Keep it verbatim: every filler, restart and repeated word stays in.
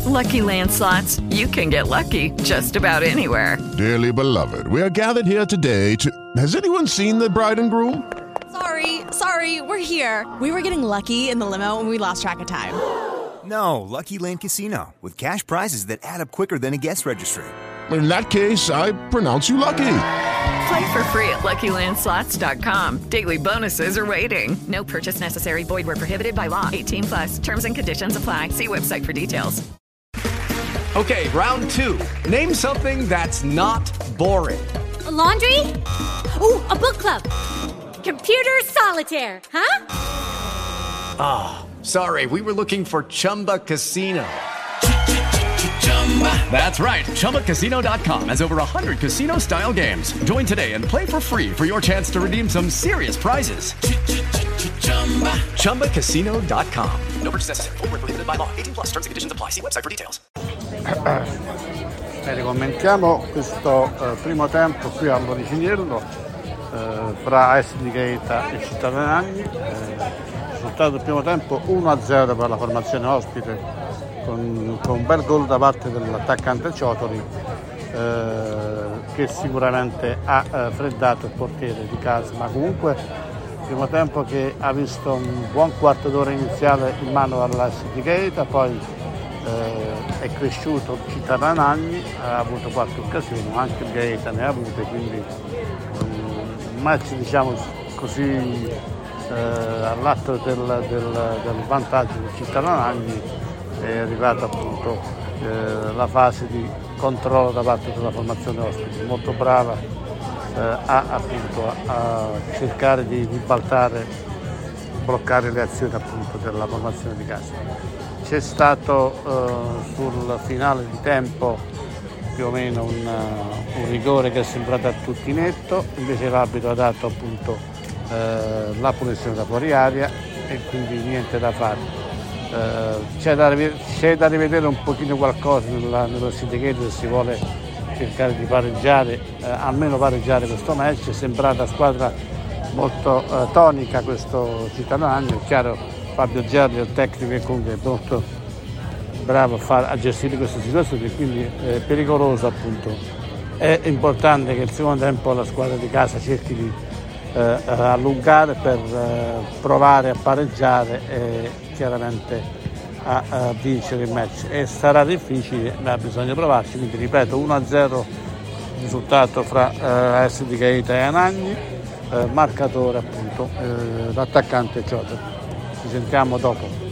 Lucky Land Slots, you can get lucky just about anywhere. Dearly beloved, we are gathered here today to... Has anyone seen the bride and groom? Sorry, sorry, we're here. We were getting lucky in the limo and we lost track of time. No, Lucky Land Casino, with cash prizes that add up quicker than a guest registry. In that case, I pronounce you lucky. Play for free at Lucky Land Slots dot com. Daily bonuses are waiting. No purchase necessary. Void where prohibited by law. eighteen plus. Terms and conditions apply. See website for details. Okay, round two. Name something that's not boring. A laundry? Ooh, a book club. Computer solitaire, huh? Ah, oh, sorry. We were looking for Chumba Casino. That's right. Chumba Casino dot com has over one hundred casino-style games. Join today and play for free for your chance to redeem some serious prizes. Chumba Casino dot com. No purchase necessary. Void where prohibited by law. eighteen plus. Terms and conditions apply. See website for details. Bene, commentiamo questo eh, primo tempo qui all'Oriciniello eh, fra A S di Gaeta e Città dei Nagni. Eh, risultato del primo tempo uno a zero per la formazione ospite, con, con un bel gol da parte dell'attaccante Ciotoli, eh, che sicuramente ha eh, freddato il portiere di casa, ma comunque primo tempo che ha visto un buon quarto d'ora iniziale in mano all'A S di Gaeta, poi eh, è cresciuto Città dei Nagni, ha avuto qualche occasione, anche il Gaeta ne ha avute, quindi un match diciamo così eh, all'atto del, del, del vantaggio di Città dei Nagni. È arrivata appunto eh, la fase di controllo da parte della formazione ospite, molto brava eh, a, appunto, a, a cercare di ribaltare, bloccare le azioni appunto della formazione di casa. C'è stato eh, sul finale di tempo più o meno un, un rigore che è sembrato a tutti netto, invece l'arbitro ha dato appunto eh, la punizione da fuori aria e quindi niente da fare. Uh, c'è, da, c'è da rivedere un pochino qualcosa nella, nello Sindicato se si vuole cercare di pareggiare, uh, almeno pareggiare questo match. È sembrata una squadra molto uh, tonica questo Città dei Nagni. È chiaro, Fabio Gerli è il tecnico e comunque è molto bravo a, far, a gestire queste situazioni, quindi è pericoloso appunto. È importante che il secondo tempo la squadra di casa cerchi di uh, allungare per uh, provare a pareggiare e chiaramente a, a vincere il match, e sarà difficile, ma bisogna provarci. Quindi ripeto, uno a zero risultato fra eh, A S di Gaeta e Anagni, eh, marcatore appunto eh, l'attaccante Ciotoli. Ci sentiamo dopo.